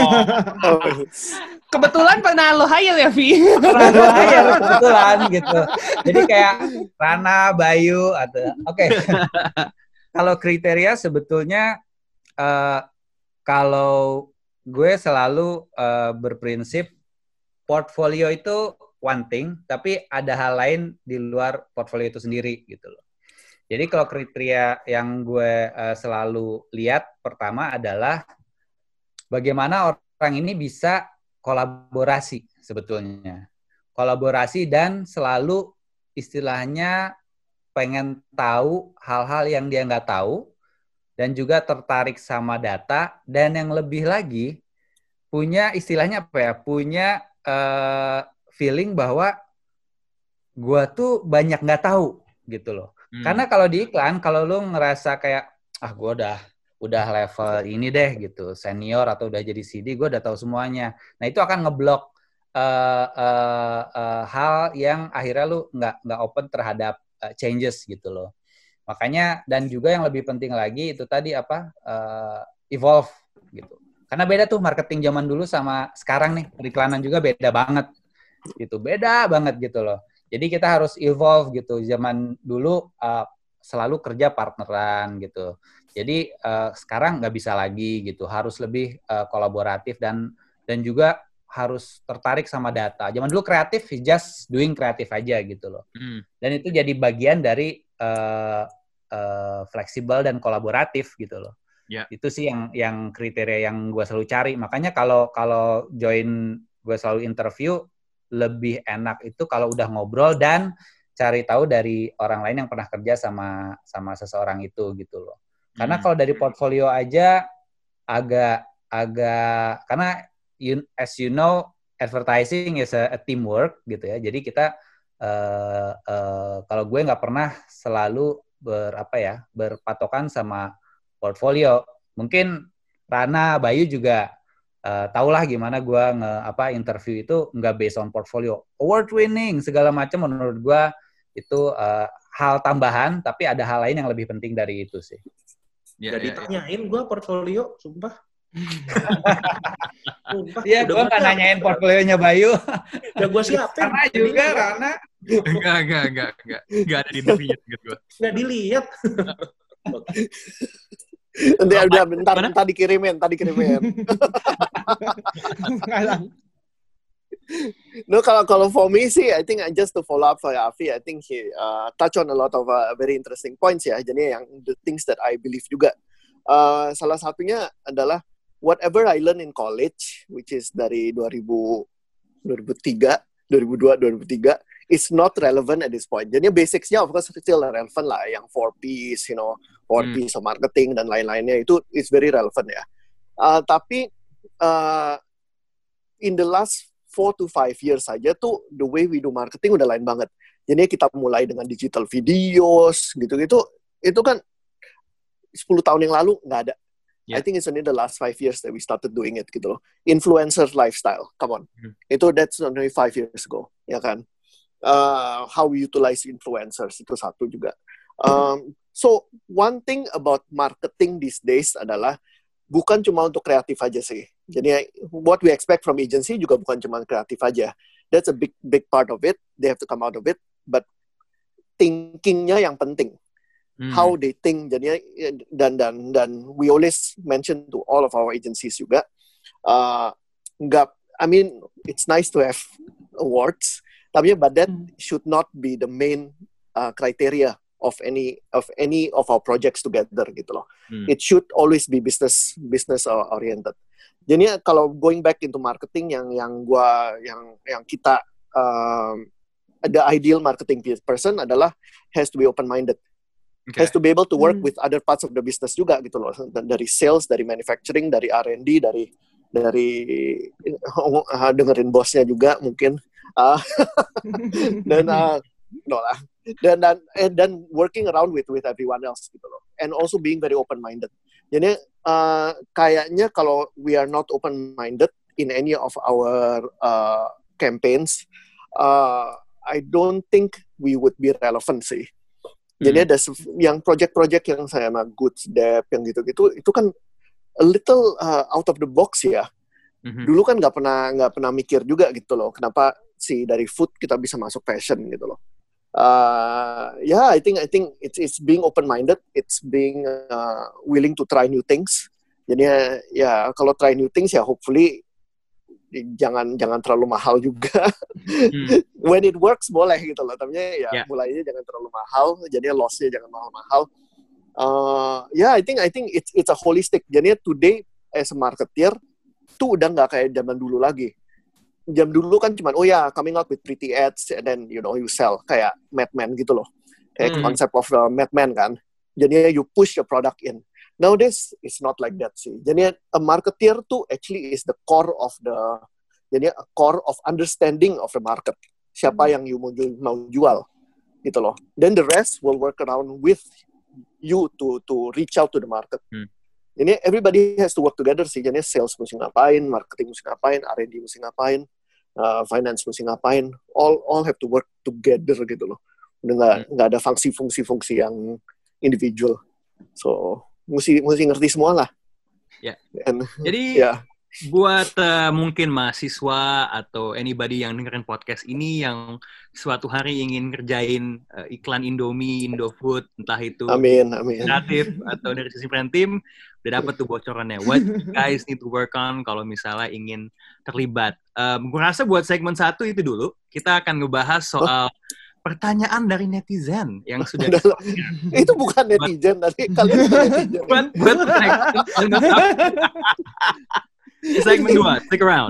Kebetulan pernah lo hire ya, Vi? Pernah gue hire, kebetulan gitu. Jadi kayak Rana, Bayu, atau oke. Kalau kriteria sebetulnya, kalau gue selalu berprinsip, portfolio itu one thing, tapi ada hal lain di luar portfolio itu sendiri gitu loh. Jadi kalau kriteria yang gue selalu lihat pertama adalah bagaimana orang ini bisa kolaborasi sebetulnya. Kolaborasi dan selalu istilahnya pengen tahu hal-hal yang dia nggak tahu dan juga tertarik sama data dan yang lebih lagi punya istilahnya apa ya? Punya feeling bahwa gue tuh banyak nggak tahu gitu loh. Karena kalau di iklan, kalau lu ngerasa kayak gue udah level ini deh gitu, senior atau udah jadi CD, gue udah tahu semuanya. Nah itu akan ngeblok hal yang akhirnya lu nggak open terhadap changes gitu loh. Makanya, dan juga yang lebih penting lagi itu tadi evolve gitu. Karena beda tuh marketing zaman dulu sama sekarang nih, periklanan juga beda banget gitu, beda banget gitu loh. Jadi kita harus evolve gitu. Zaman dulu selalu kerja partneran gitu. Jadi sekarang nggak bisa lagi gitu, harus lebih kolaboratif dan juga harus tertarik sama data. Zaman dulu kreatif, just doing kreatif aja gitu loh. Dan itu jadi bagian dari fleksibel dan kolaboratif gitu loh. Yeah. Itu sih yang kriteria yang gue selalu cari. Makanya kalau join gue selalu interview, lebih enak itu kalau udah ngobrol dan cari tahu dari orang lain yang pernah kerja sama seseorang itu gitu loh. Karena kalau dari portfolio aja agak karena as you know, advertising is a teamwork gitu ya. Jadi kita kalau gue nggak pernah selalu berpatokan sama portfolio. Mungkin Rana, Bayu juga tahulah gimana gue interview itu nggak based on portfolio. Award winning segala macam menurut gue itu hal tambahan, tapi ada hal lain yang lebih penting dari itu sih. Jadi tanyain gue portfolio, sumpah. Iya, gue nggak nanyain portfolionya Bayu. Udah gue siapin. Karena juga karena Enggak ada di interview gitu. Nggak dilihat. Nanti udah bentar dikirimin. No, kalau for me sih, I think just to follow up for Afi, I think he touch on a lot of very interesting points ya. Jadi yang the things that I believe juga. Salah satunya adalah whatever I learn in college, which is dari 2003, is not relevant at this point. Jadi basicsnya of course still relevant lah, yang 4Ps, 4Ps of marketing dan lain-lainnya itu is very relevant ya. Tapi in the last 4 to 5 years saja tuh the way we do marketing udah lain banget. Jadi kita mulai dengan digital videos gitu-gitu, itu kan 10 tahun yang lalu nggak ada. Yeah. I think it's only the last 5 years that we started doing it gitu loh. Influencer lifestyle, come on. That's only 5 years ago, ya kan? How we utilize influencers itu satu juga. So one thing about marketing these days adalah bukan cuma untuk kreatif aja sih. Jadi what we expect from agency juga bukan cuma kreatif aja. That's a big part of it. They have to come out of it. But thinkingnya yang penting. How they think. Jadi dan we always mention to all of our agencies juga. I mean it's nice to have awards. But that should not be the main criteria of any of our projects together gitu loh. It should always be business oriented. Jadi kalau going back into marketing yang kita the ideal marketing person adalah has to be open minded. Okay. Has to be able to work with other parts of the business juga gitu loh. Dari sales, dari manufacturing, dari R&D, dari dengerin bosnya juga mungkin. Dan working around with everyone else gitu loh, and also being very open minded. Jadi kayaknya kalau we are not open minded in any of our campaigns, I don't think we would be relevant sih. Jadi ada yang project-project yang saya sama Goods Dep yang gitu-gitu itu kan a little out of the box ya. Dulu kan nggak pernah mikir juga gitu loh, kenapa sih dari food kita bisa masuk fashion gitu loh. I think it's being open-minded, it's being willing to try new things. Jadi ya kalau try new things ya hopefully jangan terlalu mahal juga. When it works boleh gitu loh, tapi ya mulainya jangan terlalu mahal, jadi loss-nya jangan mahal-mahal. I think it's a holistic. Jadi today as a marketer tuh udah nggak kayak zaman dulu lagi. Jam dulu kan cuman coming out with pretty ads and then you sell kayak Mad Men gitu loh. Kayak concept of the Mad Men kan. Jadi you push your product in. Nowadays it's not like that sih. Jadi a marketer tuh actually is the core of understanding of the market. siapa yang you mau jual gitu loh. Then the rest will work around with you to reach out to the market. Jadi everybody has to work together sih. Jadi sales mesti ngapain, marketing mesti ngapain, R&D mesti ngapain, finance mesti ngapain. All have to work together gitu loh. Udah nggak ada fungsi-fungsi yang individual. So mesti ngerti semua lah. Ya. And, jadi buat mungkin mahasiswa atau anybody yang dengerin podcast ini yang suatu hari ingin ngerjain iklan Indomie, Indofood, entah itu kreatif atau dari sisi brand team, udah dapet tuh bocorannya. What you guys need to work on kalau misalnya ingin terlibat. Gue rasa buat segmen 1 itu dulu, kita akan ngebahas soal pertanyaan dari netizen yang sudah itu bukan netizen tadi, kalian bukan netizen. Buat segmen 2, stick around.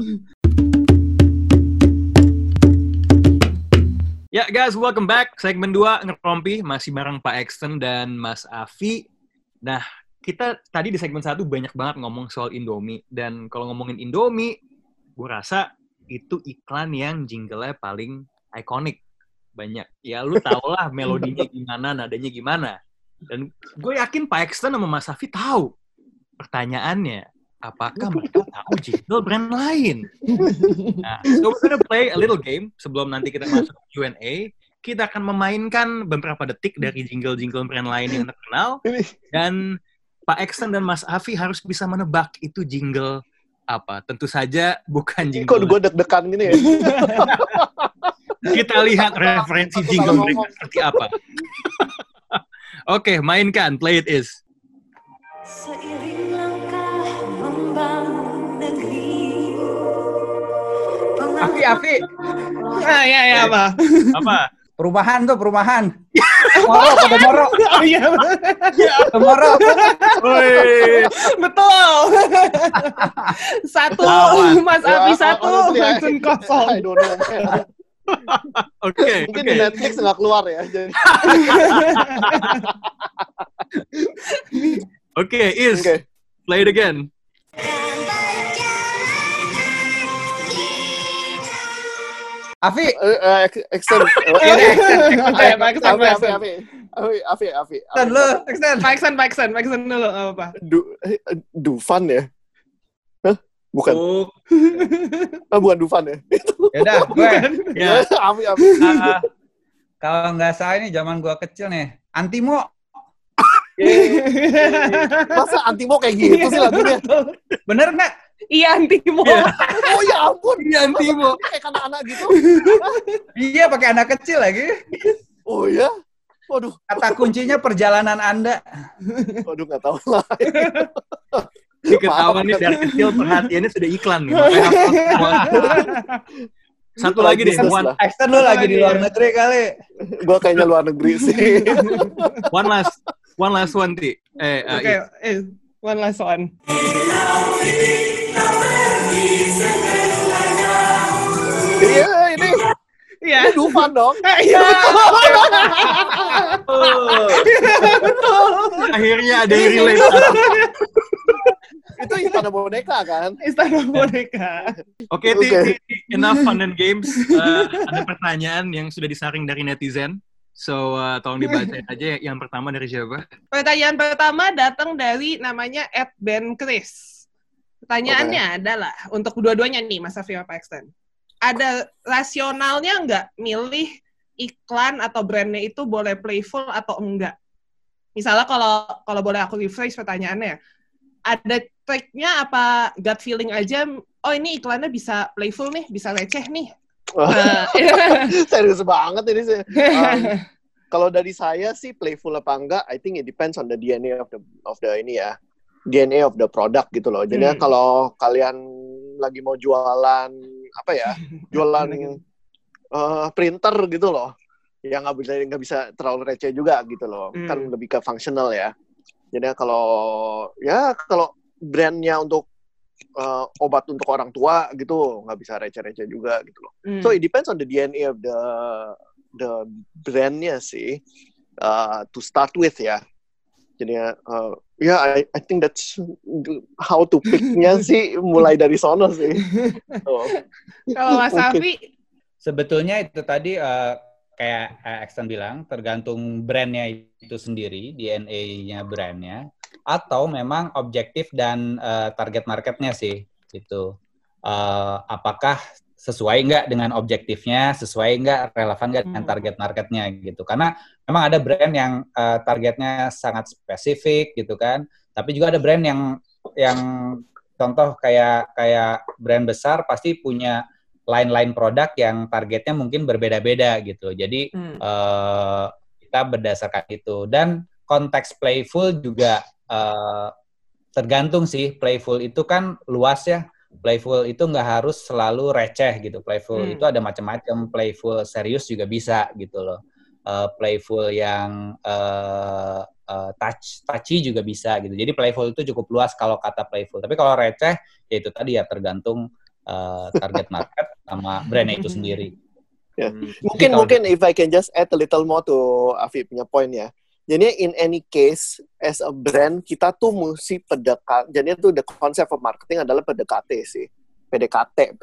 Ya guys, welcome back. Segmen 2 ngerompi masih bareng Pak Exton dan Mas Afi. Nah, kita tadi di segmen 1 banyak banget ngomong soal Indomie, dan kalau ngomongin Indomie, gue rasa itu iklan yang jingle-nya paling ikonik. Banyak. Ya lu tau lah melodinya gimana, nadanya gimana. Dan gue yakin Pak Exton sama Mas Afi tahu. Pertanyaannya, apakah mereka tahu jingle brand lain? Nah, so we're gonna play a little game sebelum nanti kita masuk Q&A. Kita akan memainkan beberapa detik dari jingle-jingle brand lain yang terkenal. Dan Pak Exton dan Mas Afi harus bisa menebak itu jingle apa. Tentu saja bukan jingle. Kok gue deg-degan gini ya? Kita lihat referensi jingle mereka seperti apa. Oke, mainkan. Play it is. Seiring langkah membangun negeri. Afi. Ya apa? Apa? Perumahan. Moro. Iya. Moro. Betul. 1, Mas Afi 1, Jackson 0. I don't know. Oke. Mungkin di Netflix nggak keluar ya. Jadi. Oke, play it again. Afi. Extend. Afi. Pak Exton dulu apa? Dufan ya? Hah? Bukan. Bukan Dufan ya? Yaudah, gue. Ya. Afi. Kalau nggak salah ini zaman gue kecil nih. Antimo. Masa Antimo kayak gitu sih lagunya? Bener nggak? Iya, Antimo. Oh ya ampun. Iya, Antimo. Kayak anak-anak gitu. Iya, pakai anak kecil lagi. Oh ya? Waduh. Kata kuncinya perjalanan Anda. Waduh, nggak tahu lah. Ini ketahuan nih dari kecil perhatiannya sudah iklan nih. Makanya satu lagi deh. Extend lo lagi di luar negeri kali. Gue kayaknya luar negeri sih. One last one, Ti. One last one. Iya, ini. Iya. Ini Dufan dong. Iya, betul. Akhirnya ada yang relate. Itu Istana Boneka kan? Istana Boneka. Oke, enough fun and games. Ada pertanyaan yang sudah disaring dari netizen. So, tolong dibacain aja yang pertama dari siapa? Pertanyaan pertama datang dari namanya @benchris. Pertanyaannya adalah, untuk dua-duanya nih, Mas Afi sama Pak Exton. Ada rasionalnya nggak milih iklan atau brandnya itu boleh playful atau enggak? Misalnya kalau boleh aku rephrase pertanyaannya, ada triknya apa gut feeling aja, oh ini iklannya bisa playful nih, bisa receh nih. Serius banget ini sih. Kalau dari saya sih playful apa enggak, I think it depends on the DNA of the ini ya, DNA of the product gitu loh. Jadi kalau kalian lagi mau jualan apa ya, jualan printer gitu loh, ya nggak bisa terlalu receh juga gitu loh. Kan lebih ke functional ya. Jadi kalau brandnya untuk obat untuk orang tua gitu, nggak bisa receh-receh juga gitu loh. So it depends on the DNA of the brandnya sih, to start with ya. Jadi I think that's how to pick-nya sih, mulai dari sono sih. Kalau Mas Afi? Sebetulnya itu tadi kayak Axton bilang, tergantung brandnya itu sendiri, DNA-nya brandnya, atau memang objektif dan target marketnya sih. Gitu. Apakah sesuai nggak dengan objektifnya, sesuai nggak, relevan nggak dengan target marketnya gitu. Karena memang ada brand yang targetnya sangat spesifik gitu kan, tapi juga ada brand yang contoh kayak brand besar pasti punya line produk yang targetnya mungkin berbeda-beda gitu. Jadi kita berdasarkan itu. Dan konteks playful juga tergantung sih. Playful itu kan luas ya. Playful itu nggak harus selalu receh gitu. Playful itu ada macam-macam. Playful serius juga bisa gitu loh. Playful yang touchy juga bisa gitu. Jadi playful itu cukup luas kalau kata playful. Tapi kalau receh, ya itu tadi ya tergantung target market sama brandnya itu sendiri. Yeah. Mungkin if I can just add a little more to Afif punya point ya. Jadi in any case as a brand kita tuh mesti PDKT. Jadi itu the concept of marketing adalah PDKT sih. PDKT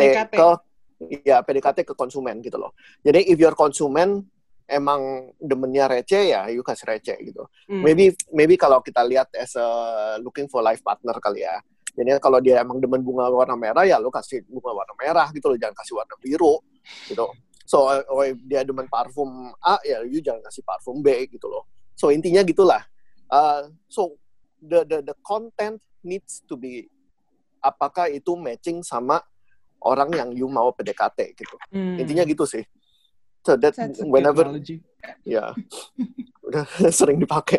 ke konsumen gitu loh. Jadi if your konsumen emang demennya receh ya you kasih receh gitu. Maybe kalau kita lihat as a looking for life partner kali ya. Jadi kalau dia emang demen bunga warna merah, ya lo kasih bunga warna merah gitu loh, jangan kasih warna biru gitu. So, if dia demen parfum A, ya you jangan kasih parfum B gitu loh. So, intinya gitulah. So, the content needs to be, apakah itu matching sama orang yang you mau PDKT gitu. Intinya gitu sih. So, that whenever, ya, udah sering dipakai.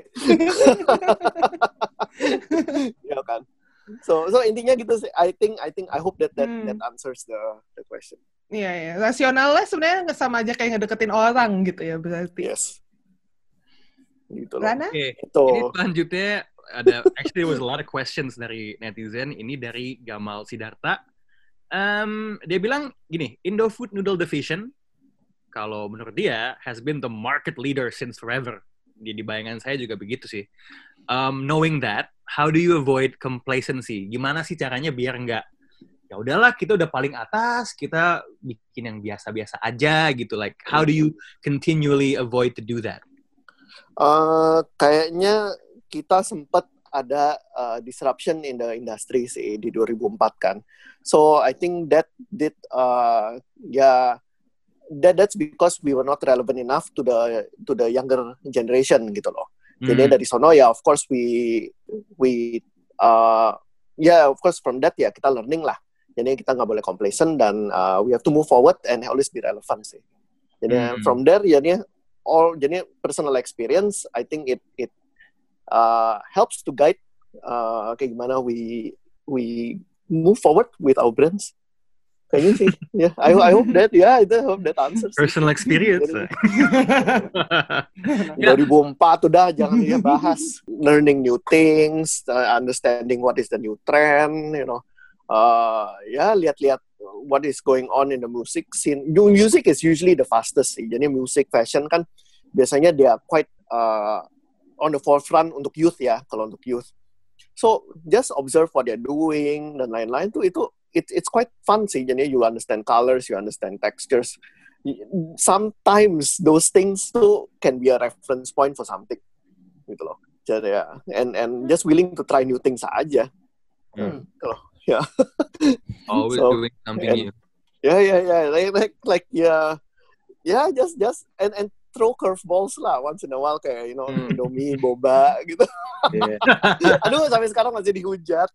Ya kan. So intinya gitu sih. I hope that answers the question. Iya. Rasionalnya sebenarnya sama aja kayak ngedeketin orang gitu ya berarti. Yes. Gitu loh. Oke. Ini selanjutnya ada actually there was a lot of questions dari netizen. Ini dari Gamal Sidarta. Dia bilang gini, Indofood Noodle Division kalau menurut dia has been the market leader since forever. Di bayangan saya juga begitu sih. Knowing that, how do you avoid complacency? Gimana sih caranya biar nggak, ya udahlah kita udah paling atas, kita bikin yang biasa-biasa aja gitu. Like, how do you continually avoid to do that? Kayaknya kita sempat ada disruption in the industry sih di 2004 kan. So I think that did that's because we were not relevant enough to the younger generation gitu loh. Jadi dari sono ya of course we of course from that ya kita learning lah. Jadi kita nggak boleh complacent dan we have to move forward and always be relevant sih. Jadi from there jadi personal experience I think it helps to guide kayak gimana we move forward with our brands. Kayaknya sih, ya. I hope that answers. Personal experience. 2004 udah jangan dia bahas learning new things, understanding what is the new trend, you know. Lihat-lihat what is going on in the music scene. Music is usually the fastest sih. Jadi music, fashion kan biasanya dia quite on the forefront untuk youth ya, kalau untuk youth. So just observe what they're doing dan lain-lain tuh itu it's quite fun sih. Jadi you understand colors, you understand textures. Sometimes those things too can be a reference point for something, gitu loh. Jadi ya, and just willing to try new things aja. Gitu loh. Yeah. Always doing something new. Yeah. Just and throw curveballs lah once in a while kayak you know Indomie, boba gitu. Yeah. Aduh sampai sekarang masih dihujat.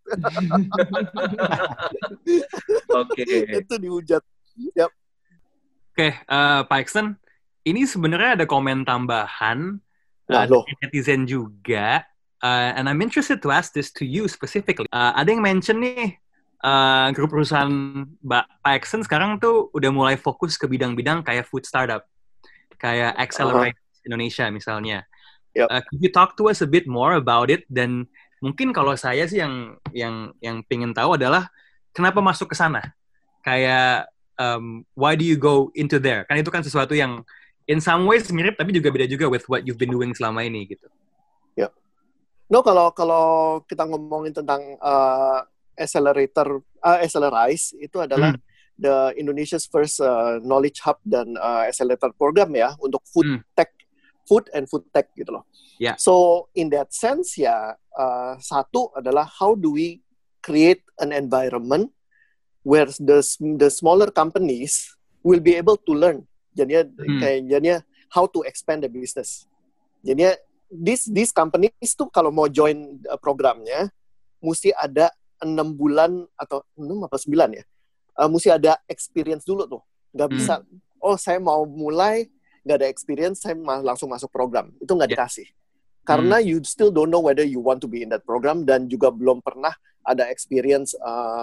Oke. Itu dihujat. Yep. Oke, Pak Axton, ini sebenarnya ada komen tambahan dari netizen juga, and I'm interested to ask this to you specifically. Ada yang mention nih, grup perusahaan Pak Axton sekarang tuh udah mulai fokus ke bidang-bidang kayak food startup. Kayak Accelerate Indonesia misalnya. Yep. Could you talk to us a bit more about it? Dan mungkin kalau saya sih yang pengen tahu adalah kenapa masuk ke sana? Kayak why do you go into there? Kan itu kan sesuatu yang in some ways mirip tapi juga beda juga with what you've been doing selama ini gitu. Ya. Yeah. No, kalau kita ngomongin tentang Accelerize itu adalah the Indonesia's first knowledge hub dan accelerator program ya untuk food and food tech gitu loh. Yeah. So in that sense ya, satu adalah how do we create an environment where the smaller companies will be able to learn. Jadinya how to expand the business. Jadinya these companies tuh kalau mau join programnya mesti ada 6 bulan atau 6 apa 9 ya. Mesti ada experience dulu tuh. Nggak bisa, saya mau mulai, nggak ada experience, saya langsung masuk program. Itu nggak dikasih. Karena you still don't know whether you want to be in that program dan juga belum pernah ada experience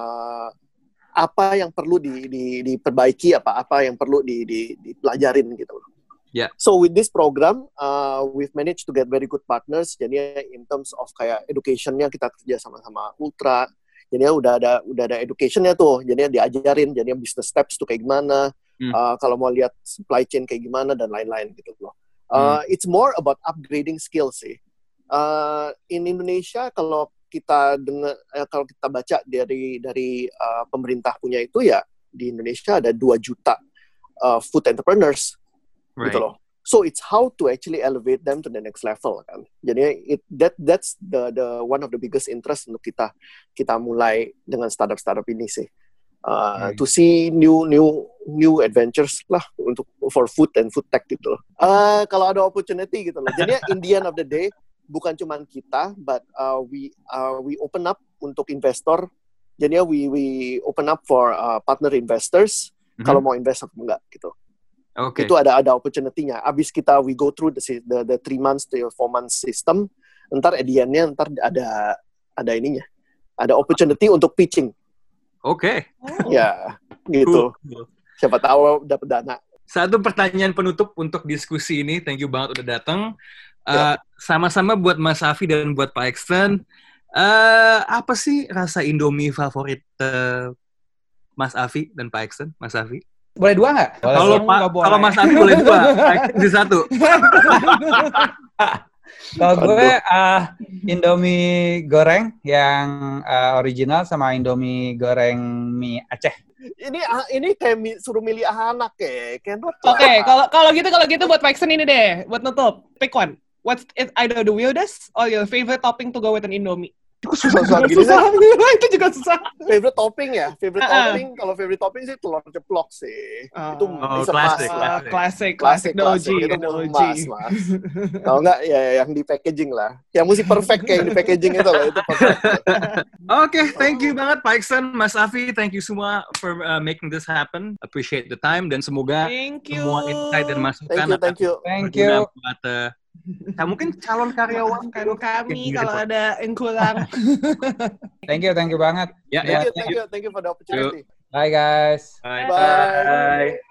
apa yang perlu diperbaiki, apa yang perlu dipelajarin gitu. Yeah. So with this program, we've managed to get very good partners. Jadi in terms of kayak education-nya kita kerja sama-sama Ultra. Jadi udah ada education-nya tuh. Jadi diajarin, jadi business steps tuh kayak gimana. Kalau mau lihat supply chain kayak gimana dan lain-lain gitu loh. It's more about upgrading skills sih. In Indonesia kalau kita baca dari pemerintah punya itu ya di Indonesia ada 2 juta food entrepreneurs gitu loh. So it's how to actually elevate them to the next level kan. Jadi that's the one of the biggest interest untuk kita mulai dengan startup ini sih. To see new adventures lah for food and food tech gitu loh. Kalau ada opportunity gitu loh. Jadi in the end of the day bukan cuma kita, but we open up untuk investor. Jadi we open up for partner investors kalau mau invest atau enggak gitu. Okay. Itu ada opportunity-nya. Abis we go through the 3 months to 4 months system, ntar at the end-nya ada ininya. Ada opportunity untuk pitching. Oke. Ya, gitu. Cool. Siapa tahu dapat dana. Satu pertanyaan penutup untuk diskusi ini. Thank you banget udah datang. Sama-sama buat Mas Afi dan buat Pak Axton. Apa sih rasa Indomie favorit Mas Afi dan Pak Axton? Mas Afi? Boleh 2 nggak? Kalau Mas Afi boleh 2. Pak Axton di 1. Kalau gue Indomie goreng yang original sama Indomie goreng mie Aceh. Ini kayak suruh milih anak ya. Oke, kalau gitu buat Pak Axton ini deh, buat nutup. Pick one. What's either the weirdest or your favorite topping to go with an Indomie? Susah gini susah. Itu juga susah. Favorite topping ya? Topping, kalau favorite topping sih telur ceplok sih. Itu bisa classic doji. Itu emas, Mas. Kalau enggak ya yang di packaging lah. Yang mesti perfect kayak yang di packaging itu loh, itu perfect. Oke, thank you banget Pak Axton, Mas Afi, thank you semua for making this happen. Appreciate the time dan semoga semua insight dan masukan Thank you. buat mungkin calon karyawan kami kalau ada yang kurang. Thank you banget. Thank you for the opportunity. Bye guys. Bye.